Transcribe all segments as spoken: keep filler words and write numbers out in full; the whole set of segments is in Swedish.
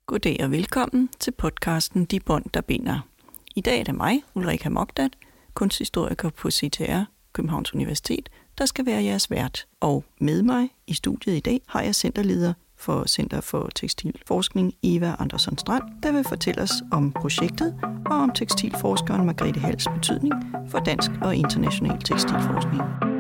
Goddag og velkommen til podcasten De Bånd, der binder. I dag er det mig, Ulrika Mogdat, kunsthistoriker på C T R, Københavns Universitet, der skal være jeres vært. Og med mig i studiet i dag har jeg centerleder for Center for Tekstilforskning, Eva Andersson Strand, der vil fortælle os om projektet og om tekstilforskeren Margrethe Halls betydning for dansk og international tekstilforskning.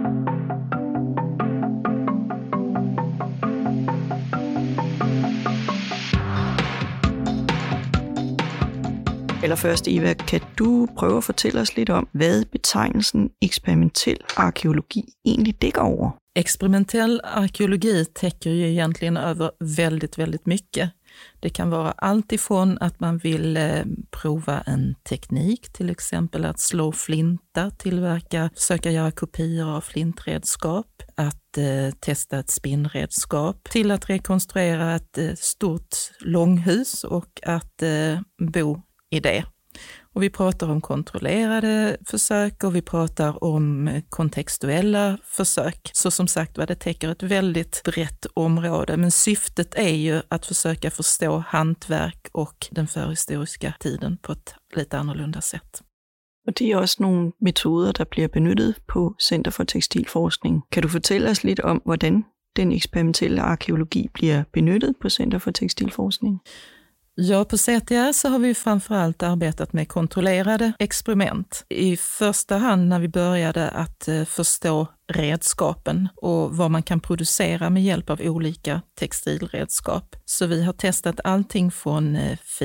Allerførst, Eva, kan du prøve at fortælle os lidt om, hvad betegnelsen eksperimentel arkeologi egentlig dækker over? Experimentell arkeologi täcker ju egentligen över väldigt, väldigt mycket. Det kan vara allt ifrån att man vill eh, prova en teknik, till exempel att slå flinta, tillverka, försöka göra kopior av flintredskap, att eh, testa ett spinnredskap, till att rekonstruera ett eh, stort långhus och att eh, bo i det. Och vi pratar om kontrollerade försök och vi pratar om kontextuella försök. Så som sagt vad det täcker ett väldigt brett område. Men syftet är ju att försöka förstå hantverk och den förhistoriska tiden på ett lite annorlunda sätt. Og det er også nogle metoder, der bliver benyttet på Center for Tekstilforskning. Kan du fortælle os lidt om, hvordan den eksperimentelle arkeologi bliver benyttet på Center for Tekstilforskning? Ja, på C T R så har vi framförallt arbetat med kontrollerade experiment. I första hand när vi började att förstå redskapen och vad man kan producera med hjälp av olika textilredskap. Så vi har testat allting från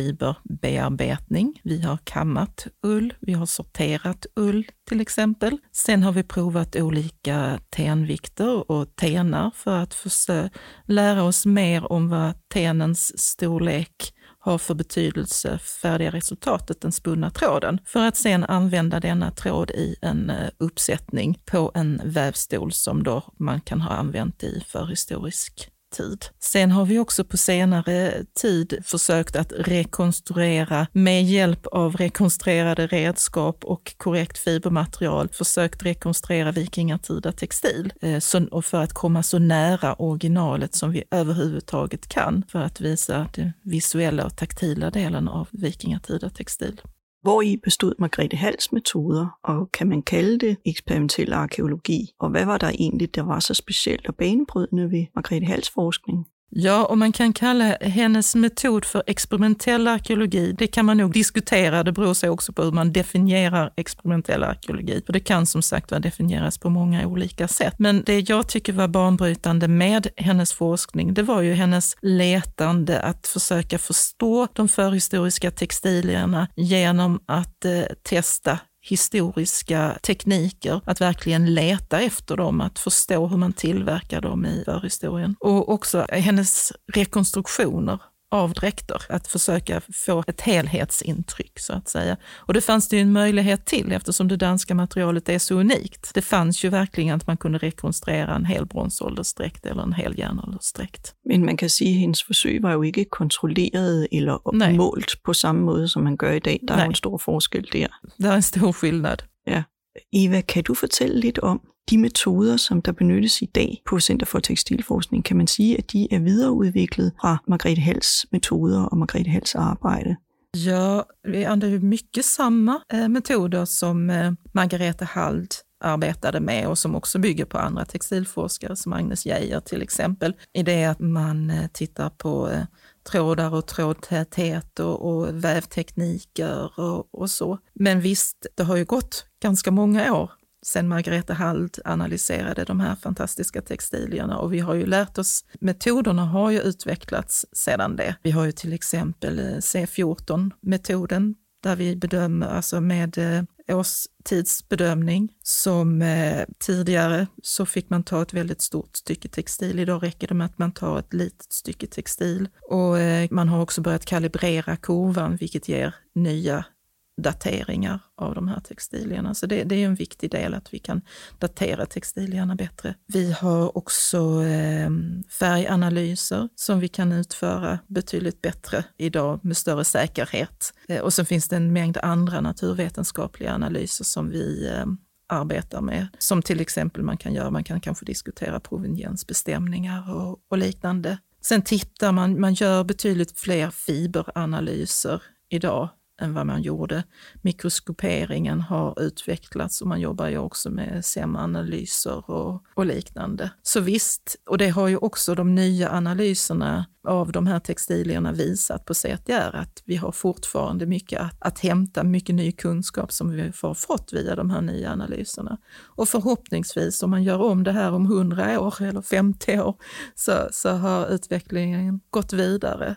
fiberbearbetning, vi har kammat ull, vi har sorterat ull till exempel. Sen har vi provat olika tenvikter och tenar för att försöka lära oss mer om vad tenens storlek har för betydelse färdiga resultatet, den spunna tråden, för att sen använda denna tråd i en uppsättning på en vävstol som då man kan ha använt i förhistorisk tid. Sen har vi också på senare tid försökt att rekonstruera med hjälp av rekonstruerade redskap och korrekt fibermaterial, försökt rekonstruera vikingatida textil så, och för att komma så nära originalet som vi överhuvudtaget kan för att visa den visuella och taktila delen av vikingatida textil. Hvori bestod Margrethe Halls metoder, og kan man kalde det eksperimentel arkeologi? Og hvad var der egentlig, der var så specielt og banebrydende ved Margrethe Halls forskning? Ja, och man kan kalla hennes metod för experimentell arkeologi. Det kan man nog diskutera, det beror sig också på hur man definierar experimentell arkeologi. För det kan som sagt definieras på många olika sätt. Men det jag tycker var banbrytande med hennes forskning, det var ju hennes letande att försöka förstå de förhistoriska textilierna genom att eh, testa historiska tekniker, att verkligen leta efter dem, att förstå hur man tillverkar dem i förhistorien. Och också hennes rekonstruktioner av dräkter, att försöka få ett helhetsintryck så att säga. Och det fanns det ju en möjlighet till eftersom det danska materialet är så unikt. Det fanns ju verkligen att man kunde rekonstruera en hel bronsåldersdräkt eller en hel järnåldersdräkt. Men man kan sige, at hendes forsøg var jo ikke kontrolleret eller Nej. målt på samme måde, som man gør i dag. Der er jo en stor forskel der. Der er en stor skillnad. Ja. Eva, kan du fortælle lidt om de metoder, som der benyttes i dag på Center for Tekstilforskning? Kan man sige, at de er videreudviklet fra Margrethe Halls metoder og Margrethe Halls arbejde? Ja, vi använder mycket samma eh, metoder som eh, Margrethe Hall arbetade med och som också bygger på andra textilforskare som Agnes Geijer till exempel. I det att man eh, tittar på eh, trådar och trådtäthet och, och vävtekniker och, och så. Men visst, det har ju gått ganska många år sen Margrethe Hall analyserade de här fantastiska textilierna och vi har ju lärt oss, metoderna har ju utvecklats sedan det. Vi har ju till exempel C fjorton-metoden där vi bedömer alltså med eh, årstidsbedömning som eh, tidigare så fick man ta ett väldigt stort stycke textil. Idag räcker det med att man tar ett litet stycke textil och eh, man har också börjat kalibrera kurvan vilket ger nya dateringar av de här textilierna. Så det, det är en viktig del att vi kan datera textilierna bättre. Vi har också eh, färganalyser som vi kan utföra betydligt bättre idag med större säkerhet. Eh, och så finns det en mängd andra naturvetenskapliga analyser som vi eh, arbetar med. Som till exempel man kan göra, man kan kanske diskutera proveniensbestämningar och, och liknande. Sen tittar man, man gör betydligt fler fiberanalyser idag än vad man gjorde. Mikroskoperingen har utvecklats och man jobbar ju också med S E M-analyser och, och liknande. Så visst, och det har ju också de nya analyserna av de här textilierna visat på C T R att vi har fortfarande mycket att, att hämta, mycket ny kunskap som vi har fått via de här nya analyserna. Och förhoppningsvis om man gör om det här om hundra år eller femtio år så, så har utvecklingen gått vidare.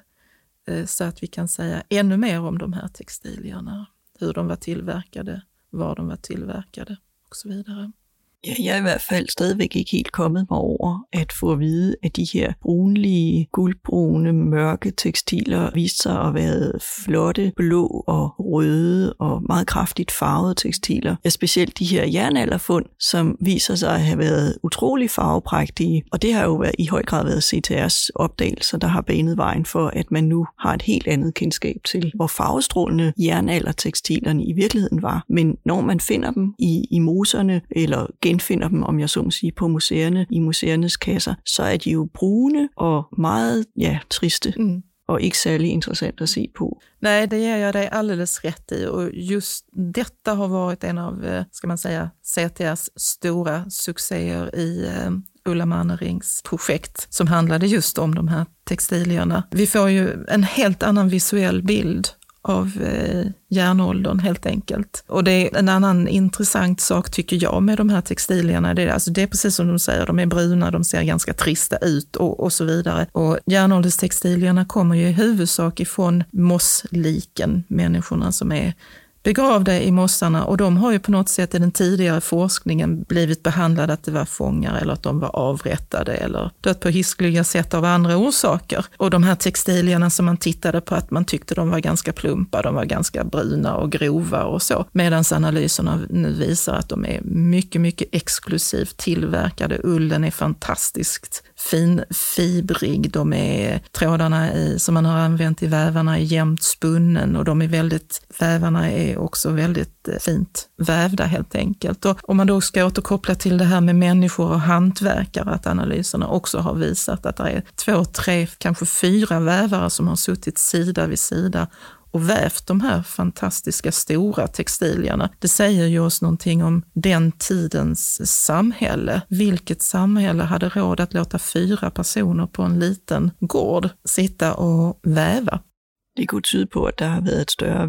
Så att vi kan säga ännu mer om de här textilierna, hur de var tillverkade, var de var tillverkade och så vidare. Ja, jeg er i hvert fald stadigvæk ikke helt kommet mig over at få at vide, at de her brunlige, guldbrune, mørke tekstiler viste sig at være flotte, blå og røde og meget kraftigt farvede tekstiler. Ja, specielt de her jernalderfund, som viser sig at have været utrolig farveprægtige. Og det har jo været, i høj grad været C T R's opdagelser, der har banet vejen for, at man nu har et helt andet kendskab til, hvor farvestrålende jernaldertekstilerne i virkeligheden var. Men når man finder dem i, i moserne, eller genfinder dem, om jeg så må sige, på museerne, i museernes kasser, så er de jo brune og meget, ja, triste. Mm. Och inte särskilt intressant att se på. Nej, det ger jag dig alldeles rätt i. Och just detta har varit en av, ska man säga, C T R's stora succéer i Ulla Mannerings projekt som handlade just om de här textilierna. Vi får ju en helt annan visuell bild av eh, järnåldern helt enkelt. Och det är en annan intressant sak tycker jag med de här textilierna. Det är, alltså det är precis som de säger, de är bruna, de ser ganska trista ut och, och så vidare. Och järnålderstextilierna kommer ju i huvudsak ifrån mossliken, människorna som är begravda i mossarna, och de har ju på något sätt i den tidigare forskningen blivit behandlade att det var fångar eller att de var avrättade eller dött på hiskliga sätt av andra orsaker. Och de här textilierna som man tittade på, att man tyckte de var ganska plumpa, de var ganska bruna och grova och så. Medan analyserna nu visar att de är mycket, mycket exklusivt tillverkade. Ullen är fantastiskt fin, fibrig, de är trådarna i, som man har använt i vävarna är jämnt spunnen och de är väldigt, vävarna är också väldigt fint vävda helt enkelt. Och om man då ska återkoppla till det här med människor och hantverkare, att analyserna också har visat att det är två, tre, kanske fyra vävare som har suttit sida vid sida och vävt de här fantastiska stora textilierna. Det säger ju oss någonting om den tidens samhälle. Vilket samhälle hade råd att låta fyra personer på en liten gård sitta och väva? Det kunne tyde på, at der har været et større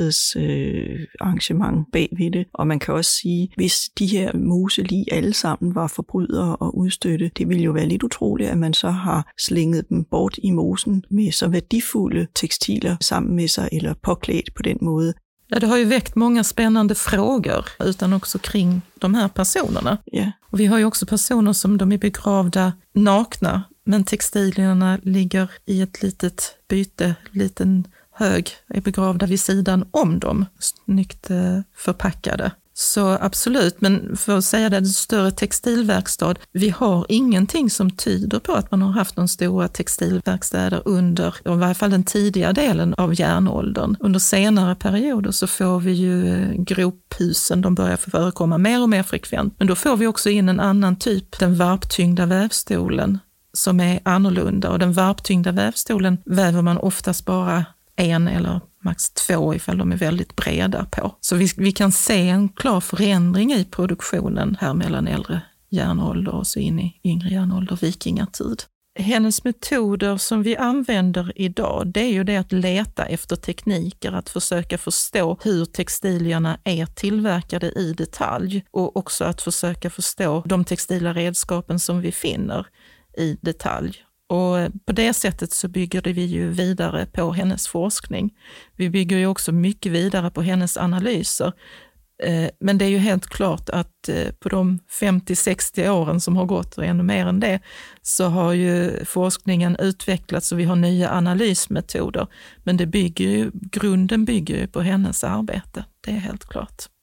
værkstedsarrangement øh, bagved det. Og man kan også sige, hvis de her moselig alle sammen var forbrydere og udstøtte, det ville jo være lidt utroligt, at man så har slænget dem bort i mosen med så värdefulde textiler sammen med sig, eller påklædt på den måde. Ja, det har ju väckt många spännande frågor, utan också kring de här personerna. Ja. Och vi har ju också personer som de är begravda nakna, men textilierna ligger i ett litet byte, liten hög, är begravda vid sidan om dem, snyggt förpackade. Så absolut, men för att säga det, en större textilverkstad, vi har ingenting som tyder på att man har haft någon stora textilverkstäder under, i varje fall den tidiga delen av järnåldern. Under senare perioder så får vi ju grophusen, de börjar förekomma mer och mer frekvent, men då får vi också in en annan typ, den varptyngda vävstolen, som är annorlunda, och den varptyngda vävstolen väver man oftast bara en eller max två ifall de är väldigt breda på. Så vi, vi kan se en klar förändring i produktionen här mellan äldre järnålder och så in i yngre järnålder, vikingatid. Hennes metoder som vi använder idag, det är ju det att leta efter tekniker, att försöka förstå hur textilierna är tillverkade i detalj, och också att försöka förstå de textila redskapen som vi finner i detalj. Och på det sättet så bygger vi ju vidare på hennes forskning. Vi bygger ju också mycket vidare på hennes analyser. Men det är ju helt klart att på de femtio sextio åren som har gått, och ännu mer än det, så har ju forskningen utvecklats och vi har nya analysmetoder. Men det bygger ju, grunden bygger ju på hennes arbete, det är helt klart.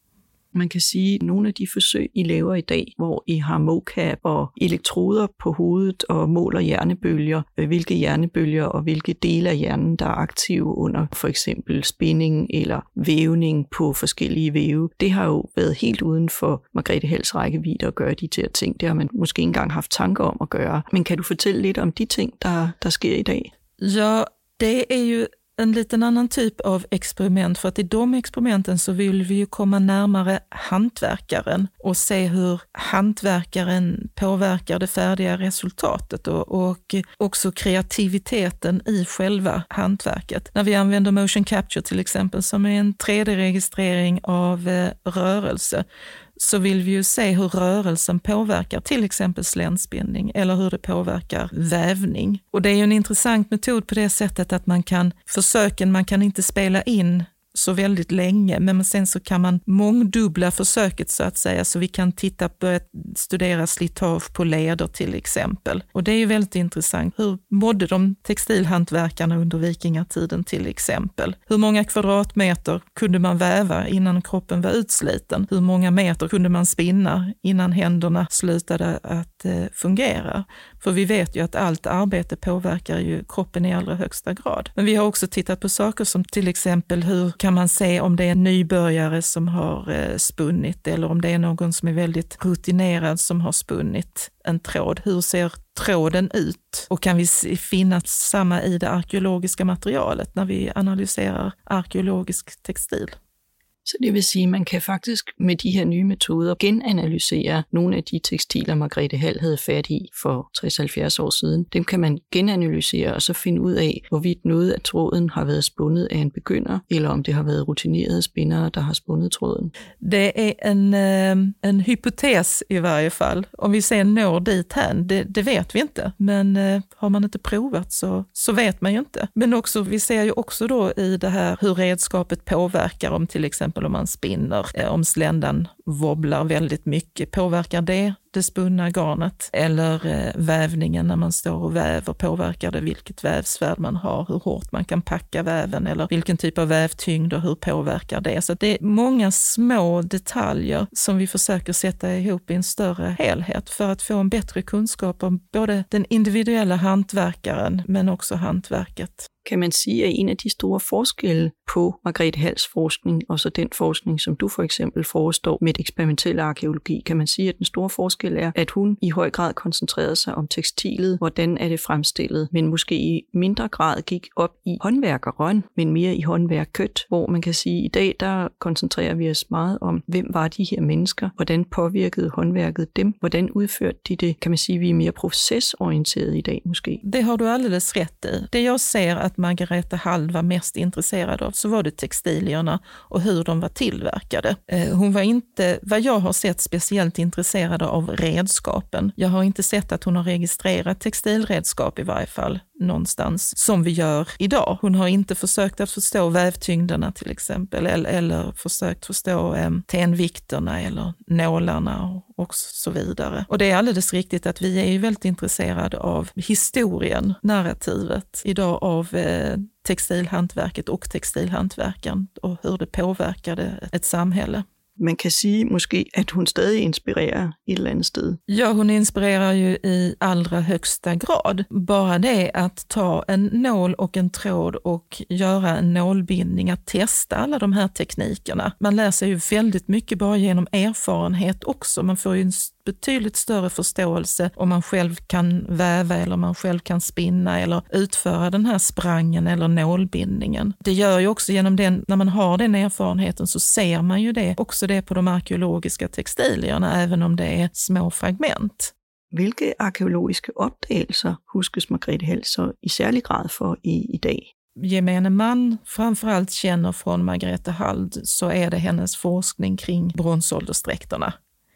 Man kan sige, at nogle af de forsøg, I laver i dag, hvor I har mocap og elektroder på hovedet og måler hjernebølger, hvilke hjernebølger og hvilke dele af hjernen, der er aktive under for eksempel spænding eller vævning på forskellige væve, det har jo været helt uden for Margrethe Halls rækkevidde at gøre de her ting. Det har man måske ikke engang haft tanker om at gøre. Men kan du fortælle lidt om de ting, der, der sker i dag? Ja, det är ju en liten annan typ av experiment, för att i de experimenten så vill vi ju komma närmare hantverkaren och se hur hantverkaren påverkar det färdiga resultatet och, och också kreativiteten i själva hantverket. När vi använder motion capture till exempel, som är en tre D-registrering av eh, rörelse, så vill vi ju se hur rörelsen påverkar till exempel sländspinning eller hur det påverkar vävning. Och det är ju en intressant metod på det sättet att man kan, försöken man kan inte spela in så väldigt länge, men sen så kan man mångdubbla försöket så att säga, så vi kan titta på, studera slitage på leder till exempel. Och det är ju väldigt intressant. Hur mådde de textilhantverkarna under vikingatiden till exempel? Hur många kvadratmeter kunde man väva innan kroppen var utsliten? Hur många meter kunde man spinna innan händerna slutade att eh, fungera? För vi vet ju att allt arbete påverkar ju kroppen i allra högsta grad. Men vi har också tittat på saker som till exempel hur kan man se om det är en nybörjare som har eh, spunnit eller om det är någon som är väldigt rutinerad som har spunnit en tråd. Hur ser tråden ut? Och kan vi finna samma i det arkeologiska materialet när vi analyserar arkeologisk textil? Så det vil sige, at man kan faktisk med de her nye metoder genanalysere nogle af de tekstiler, Margrethe Hall havde fat i for tres til halvfjerds år siden. Dem kan man genanalysere og så finde ud af, hvorvidt noget af tråden har været spundet af en begynder, eller om det har været rutinerede spinnere, der har spundet tråden. Det är en, en hypotes i varje fall. Om vi sen når dit här, det, det vet vi inte. Men har man inte provat så, så vet man ju inte. Men också, vi ser ju också då i det här hur redskapet påverkar, om till exempel om man spinner, om sländan wobblar väldigt mycket, påverkar det det spunna garnet? Eller eh, vävningen när man står och väver, påverkar det vilket vävsvärd man har, hur hårt man kan packa väven eller vilken typ av vävtyngd och hur påverkar det? Så det är många små detaljer som vi försöker sätta ihop i en större helhet för att få en bättre kunskap om både den individuella hantverkaren men också hantverket. Kan man sige, at en af de store forskelle på Margrethe Halls forskning og så den forskning, som du for eksempel forestår med eksperimentel arkeologi, kan man sige, at den store forskel er, at hun i høj grad koncentrerede sig om tekstilet, hvordan er det fremstillet, men måske i mindre grad gik op i håndværkeren, men mere i håndværket, hvor man kan sige, at i dag der koncentrerer vi os meget om, hvem var de her mennesker, hvordan påvirkede håndværket dem, hvordan udførte de det, kan man sige, vi er mere procesorienteret i dag måske. Det har du alldeles rätt i. Det jag ser att Margrethe Hall var mest intresserad av så var det textilierna och hur de var tillverkade. Hon var inte, vad jag har sett, speciellt intresserad av redskapen. Jag har inte sett att hon har registrerat textilredskap i varje fall någonstans som vi gör idag. Hon har inte försökt att förstå vävtyngderna till exempel eller, eller försökt förstå eh, tenvikterna eller nålarna och, och så vidare. Och det är alldeles riktigt att vi är ju väldigt intresserade av historien, narrativet idag av eh, textilhantverket och textilhantverken och hur det påverkade ett samhälle. Man kan sige måske, at hun stadig inspirerer et eller andet sted. Ja, hon inspirerar ju i allra högsta grad. Bara det att ta en nål och en tråd och göra en nålbindning, att testa alla de här teknikerna. Man lär sig ju väldigt mycket bara genom erfarenhet också. Man får ju en betydligt större förståelse om man själv kan väva eller man själv kan spinna eller utföra den här sprangen eller nålbindningen. Det gör ju också genom den, när man har den erfarenheten så ser man ju det, också det på de arkeologiska textilierna, även om det är små fragment. Hvilke arkeologiske opdagelser huskes Margrethe Hall så i særlig grad for i, i dag? Gemene man framförallt känner från Margrethe Hall så är det hennes forskning kring bronsåldersdräkterna.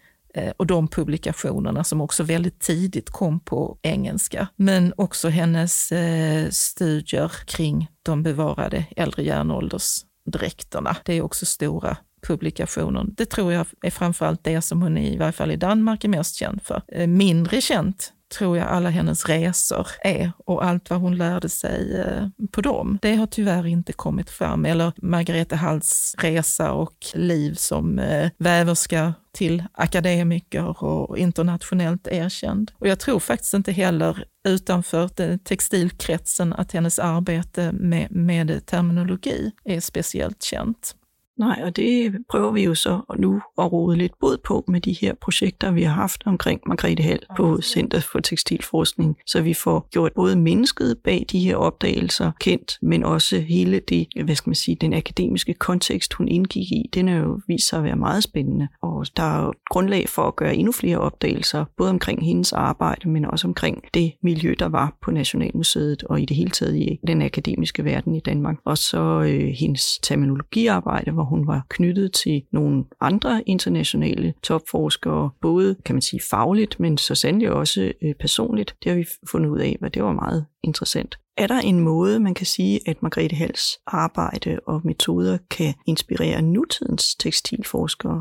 Och de publikationerna som också väldigt tidigt kom på engelska. Men också hennes eh, studier kring de bevarade äldre järnåldersdräkterna. Det är också stora publikationer. Det tror jag är framförallt det som hon i varje fall i Danmark är mest känd för. Eh, mindre känt tror jag alla hennes resor är och allt vad hon lärde sig eh, på dem. Det har tyvärr inte kommit fram. Eller Margareta Halls resa och liv som eh, väverska till akademiker och internationellt erkänd. Och jag tror faktiskt inte heller utanför textilkretsen att hennes arbete med, med terminologi är speciellt känt. Nej, og det prøver vi jo så nu at rode lidt bod på med de her projekter, vi har haft omkring Margrethe Hald på Center for Tekstilforskning, så vi får gjort både mennesket bag de her opdagelser kendt, men også hele det, hvad skal man sige, den akademiske kontekst, hun indgik i, den er jo vist sig at være meget spændende, og der er jo grundlag for at gøre endnu flere opdagelser, både omkring hendes arbejde, men også omkring det miljø, der var på Nationalmuseet og i det hele taget i den akademiske verden i Danmark, og så øh, hendes terminologiarbejde, hvor hun var knyttet til nogle andre internationale topforskere, både kan man sige fagligt, men så sandelig også øh, personligt. Det har vi fundet ud af, og det var meget interessant. Er der en måde, man kan sige, at Margrethe Halls arbejde og metoder kan inspirere nutidens tekstilforskere?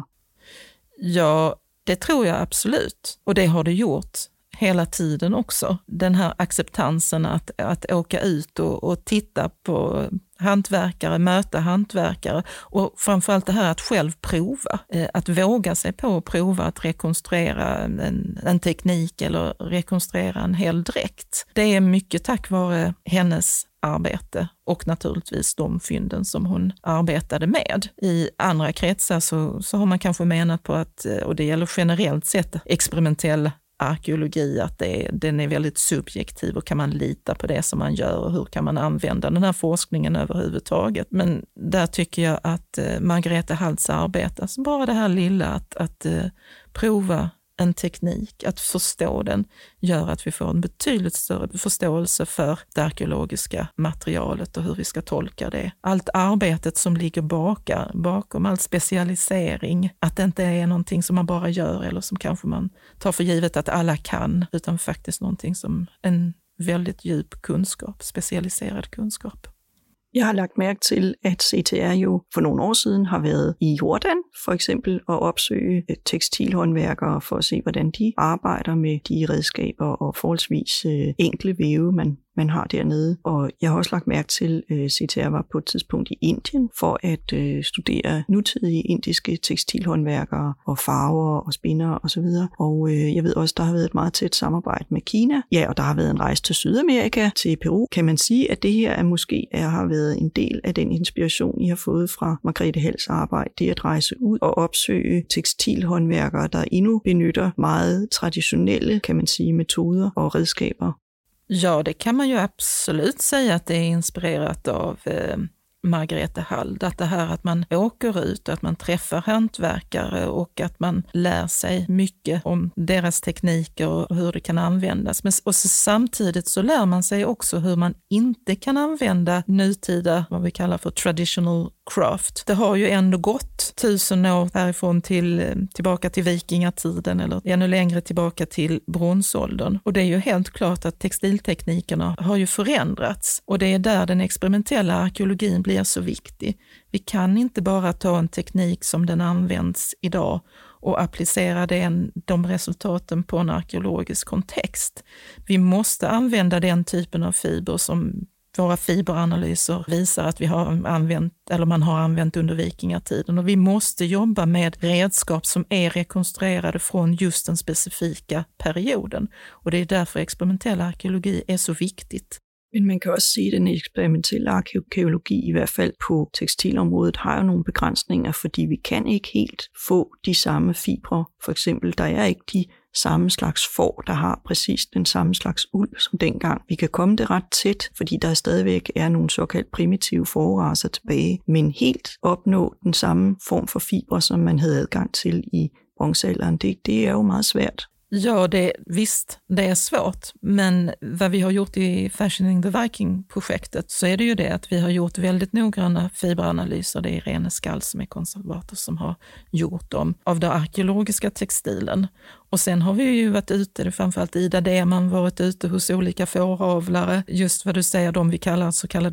Ja, det tror jag absolut. Och det har det gjort hela tiden också. Den här acceptansen att, att åka ut och, och titta på hantverkare, möta hantverkare och framförallt det här att själv prova. Att våga sig på att prova att rekonstruera en, en teknik eller rekonstruera en hel dräkt. Det är mycket tack vare hennes arbete och naturligtvis de fynden som hon arbetade med. I andra kretsar så, så har man kanske menat på att, och det gäller generellt sett, experimentell arkeologi, att det, den är väldigt subjektiv och kan man lita på det som man gör och hur kan man använda den här forskningen överhuvudtaget. Men där tycker jag att eh, Margareta Halls arbete, alltså bara det här lilla att, att eh, prova en teknik, att förstå den, gör att vi får en betydligt större förståelse för det arkeologiska materialet och hur vi ska tolka det. Allt arbetet som ligger baka, bakom, all specialisering, att det inte är någonting som man bara gör eller som kanske man tar för givet att alla kan, utan faktiskt någonting som en väldigt djup kunskap, specialiserad kunskap. Jeg har lagt mærke til, at C T R jo for nogle år siden har været i Jordan, for eksempel, og opsøge tekstilhåndværkere for at se, hvordan de arbejder med de redskaber og forholdsvis enkle væve, man, man har dernede. Og jeg har også lagt mærke til, at C T R var på et tidspunkt i Indien for at øh, studere nutidige indiske tekstilhåndværkere og farver og spindere osv. Og øh, jeg ved også, der har været et meget tæt samarbejde med Kina. Ja, og der har været en rejse til Sydamerika, til Peru. Kan man sige, at det her er måske er, har været en del af den inspiration, I har fået fra Margrethe Halls arbejde, det at rejse ud og opsøge tekstilhåndværkere, der endnu benytter meget traditionelle, kan man sige, metoder og redskaber? Ja, det kan man ju absolut säga att det är inspirerat av eh, Margareta Hall. Att det här att man åker ut och att man träffar hantverkare och att man lär sig mycket om deras tekniker och hur det kan användas. Men och så, samtidigt så lär man sig också hur man inte kan använda nutida, vad vi kallar för traditional craft. Det har ju ändå gått tusen år härifrån till, tillbaka till vikingatiden eller ännu längre tillbaka till bronsåldern. Och det är ju helt klart att textilteknikerna har ju förändrats och det är där den experimentella arkeologin blir så viktig. Vi kan inte bara ta en teknik som den används idag och applicera den, de resultaten på en arkeologisk kontext. Vi måste använda den typen av fiber som våra fiberanalyser visar att vi har använt, eller man har använt under vikingatiden, och vi måste jobba med redskap som är rekonstruerade från just den specifika perioden. Och det är därför experimentell arkeologi är så viktigt. Men man kan også sige, at den eksperimentelle arkeologi, i hvert fald på tekstilområdet, har jo nogle begrænsninger, fordi vi kan ikke helt få de samme fibre. For eksempel, der er ikke de samme slags får, der har præcis den samme slags uld som dengang. Vi kan komme det ret tæt, fordi der stadigvæk er nogle såkaldt primitive forracer tilbage, men helt opnå den samme form for fibre, som man havde adgang til i bronzealderen, det, det er jo meget svært. Ja, det, visst, det är svårt. Men vad vi har gjort i Fashioning the Viking-projektet så är det ju det att vi har gjort väldigt noggranna fiberanalyser. Det är Irene Skall som är konservator som har gjort dem av den arkeologiska textilen. Och sen har vi ju varit ute, framförallt Ida Deman varit ute hos olika fåravlare. Just vad du säger, de vi kallar så kallade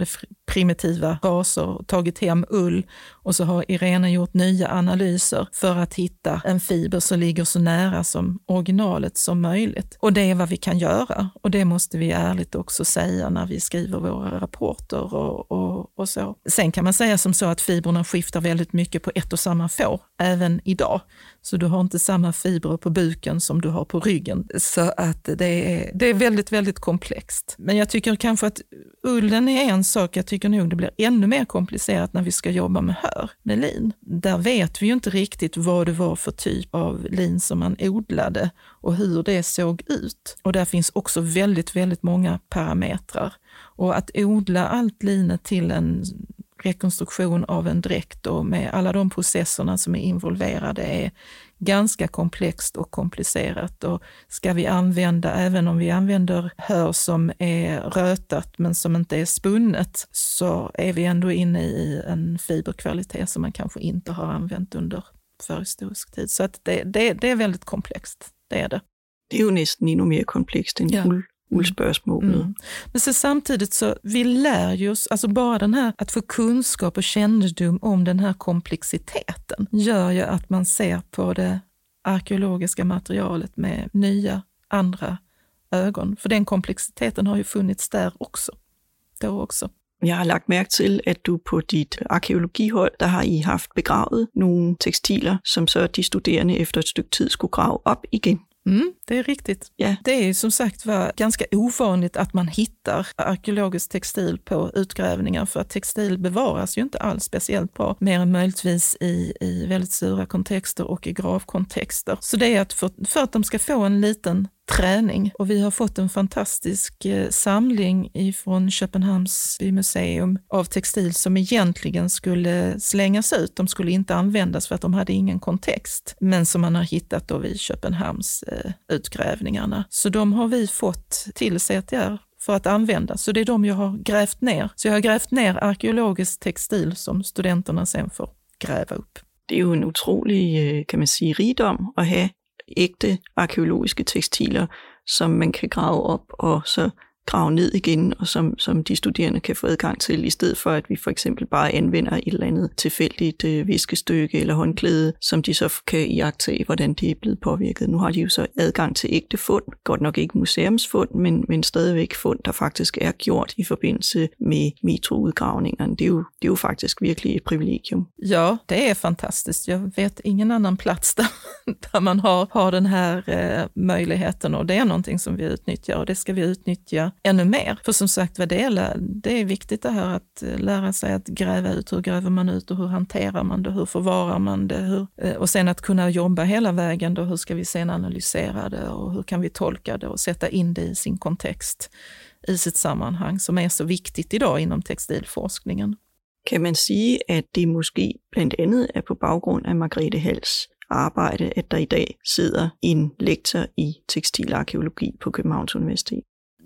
primitiva raser och tagit hem ull, och så har Irene gjort nya analyser för att hitta en fiber som ligger så nära som originalet som möjligt. Och det är vad vi kan göra, och det måste vi ärligt också säga när vi skriver våra rapporter och, och, och så. Sen kan man säga som så att fibrerna skiftar väldigt mycket på ett och samma får, även idag. Så du har inte samma fibrer på buken som du har på ryggen. Så att det är, det är väldigt, väldigt komplext. Men jag tycker kanske att ullen är en sak. Jag tycker nog det blir ännu mer komplicerat när vi ska jobba med hör, med lin. Där vet vi ju inte riktigt vad det var för typ av lin som man odlade och hur det såg ut. Och där finns också väldigt, väldigt många parametrar. Och att odla allt linet till en rekonstruktion av en dräkt och med alla de processerna som är involverade är ganska komplext och komplicerat. Och ska vi använda, även om vi använder hör som är rötat men som inte är spunnet, så är vi ändå inne i en fiberkvalitet som man kanske inte har använt under förhistorisk tid. Så att det, det, det är väldigt komplext, det är det. Det är ju nästan ännu mer komplext än ja. uld. uldspörsmålet. Mm. Men så samtidigt så vi lär ju oss, alltså bara den här att få kunskap och kännedom om den här komplexiteten gör ju att man ser på det arkeologiska materialet med nya andra ögon. För den komplexiteten har ju funnits där också. Då också. Jeg har lagt mærke til, at du på dit arkeologihold, der har I haft begravet nogle tekstiler, som så de studerende efter ett stycke tid skulle grave op igen. Mm, det är riktigt. Yeah. Det är som sagt var ganska ovanligt att man hittar arkeologisk textil på utgrävningar, för att textil bevaras ju inte alls speciellt bra, mer än möjligtvis i, i väldigt sura kontexter och i gravkontexter. Så det är att för, för att de ska få en liten träning, och vi har fått en fantastisk eh, samling ifrån Köpenhamns museum av textil som egentligen skulle slängas ut. De skulle inte användas för att de hade ingen kontext, men som man har hittat då vid Köpenhamns eh, utgrävningarna. Så de har vi fått till C T R för att använda. Så det är de jag har grävt ner. Så jag har grävt ner arkeologisk textil som studenterna sen får gräva upp. Det är ju en otrolig, kan man säga, rigdom att ha ægte arkeologiske tekstiler, som man kan grave op og så grave ned igen, og som, som de studerende kan få adgang til, i stedet for at vi for eksempel bare anvender et eller andet tilfældigt øh, viskestykke eller håndklæde, som de så kan iagttage, hvordan det er blevet påvirket. Nu har de jo så adgang til ægte fund, godt nok ikke museumsfund, men, men stadigvæk fund, der faktisk er gjort i forbindelse med metroudgravningerne. Det er jo, det er jo faktisk virkelig et privilegium. Ja, det är fantastiskt. Jag vet ingen annan plats där, där man har, har den här eh, möjligheten, och det är någonting som vi utnyttjar, och det ska vi utnyttja ännu mer. För som sagt, vad det är, det är viktigt det här att lära sig att gräva ut. Hur gräver man ut och hur hanterar man det? Hur förvarar man det? Hur, och sen att kunna jobba hela vägen då. Hur ska vi sen analysera det och hur kan vi tolka det och sätta in det i sin kontext, i sitt sammanhang, som är så viktigt idag inom textilforskningen. Kan man sige, at det måske blandt andet er på baggrund af Margrethe Halls arbejde, at der i dag sidder en lektor i tekstilarkeologi på Københavns Universitet?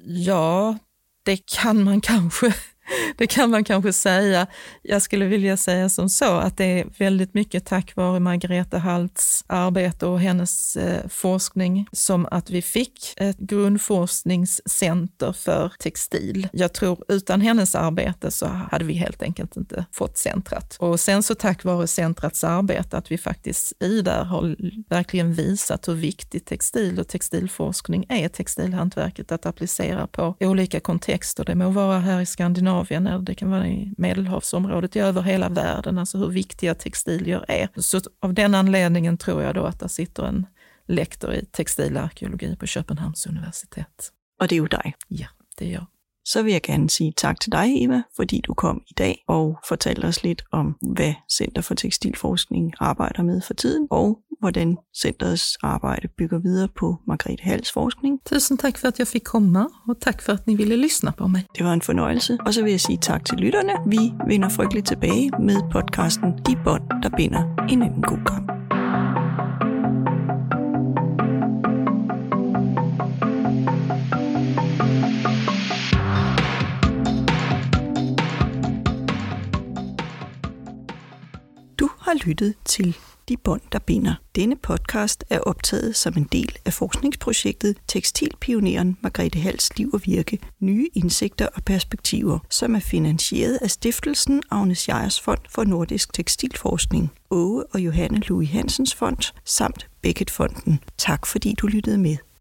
Ja, det kan man kanske, det kan man kanske säga. Jag skulle vilja säga som så att det är väldigt mycket tack vare Margrethe Halls arbete och hennes eh, forskning som att vi fick ett grundforskningscenter för textil. Jag tror utan hennes arbete så hade vi helt enkelt inte fått centrat. Och sen så tack vare centrats arbete att vi faktiskt i där har verkligen visat hur viktigt textil och textilforskning är, textilhantverket, att applicera på olika kontexter. Det må vara här i Skandinavien, eller det kan vara i Medelhavsområdet, över hela världen, alltså hur viktiga textilier är. Så av den anledningen tror jag då att det sitter en lektor i textilarkeologi på Köpenhamns universitet. Och det är ju dig. Ja, det är jag. Så vil jeg gerne sige tak til dig, Eva, fordi du kom i dag og fortalte os lidt om, hvad Center for Tekstilforskning arbejder med for tiden, og hvordan centerets arbejde bygger videre på Margrethe Halls forskning. Tusind tak for, at jeg fik komma, og tak for, at ni ville lyssna på mig. Det var en fornøjelse, og så vil jeg sige tak til lytterne. Vi vender frygteligt tilbage med podcasten De Bånd, der binder en anden god kamp. Du har lyttet til De bånd, der binder. Denne podcast er optaget som en del af forskningsprojektet Tekstilpioneren Margrethe Halds liv og virke, nye indsigter og perspektiver, som er finansieret af Stiftelsen Agnes Jeyers Fond for Nordisk Tekstilforskning, Åge og Johanne Louis Hansens Fond samt Beckett Fonden. Tak fordi du lyttede med.